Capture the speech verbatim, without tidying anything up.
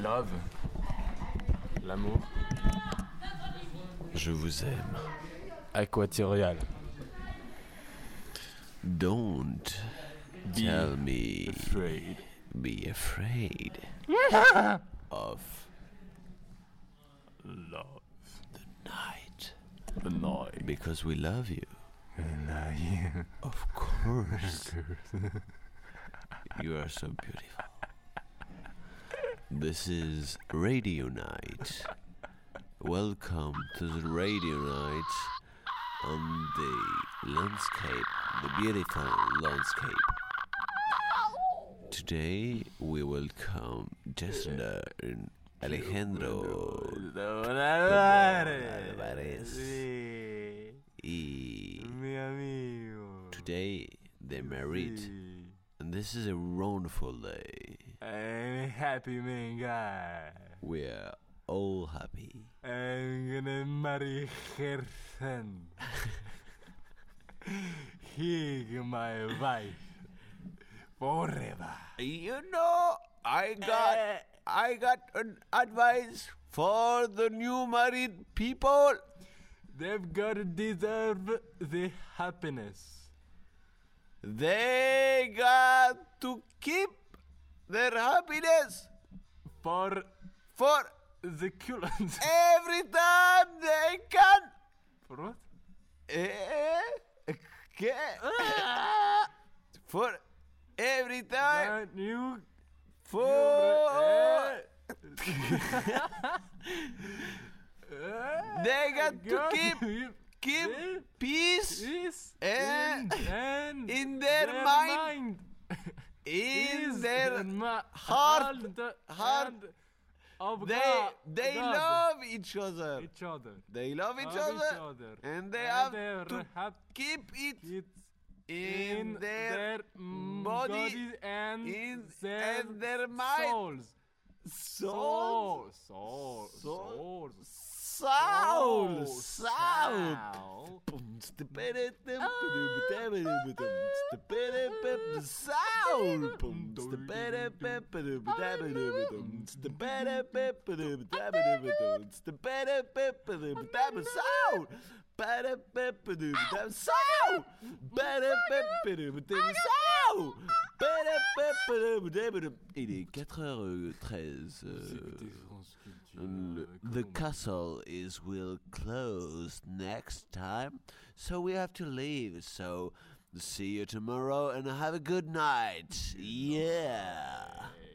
Love. L'amour. Je vous aime. Aquatorial. Don't Be tell me afraid. be afraid of Love. the night. The night. Because we love you. The night. Of course. You are so beautiful. This is Radio Night. Welcome to the Radio Night on the landscape, the beautiful landscape. Today we welcome Jessner and Alejandro Alvarez. Y Mi amigo. today they're married, Sí. and this is a wonderful day. I'm a happy man guy. We're all happy. I'm gonna marry her son. He my wife. Forever. You know, I got I got an advice for the new married people. They've gotta deserve the happiness. They got to keep their happiness For for the culans. every time they can. For what? Eh? ¿Qué? For every time. Can you... For they got to keep keep peace Is Eh, in, and in their mind. in Is their ma- heart. hand heart. and of They God- they God. love each other. each other. They love each, Love other, each other. and they And have they're to happy. keep it It's in, in their, mm, body, bodies and in their, and their mind. souls. Soul, Soul, soul, Soul. souls. soul, Soul, soul. soul. Il est quatre heures treize. Écoutez France Culture, Le- euh, the comment- castle is will close next time, so we have to leave. So see you tomorrow and have a good night. Yeah.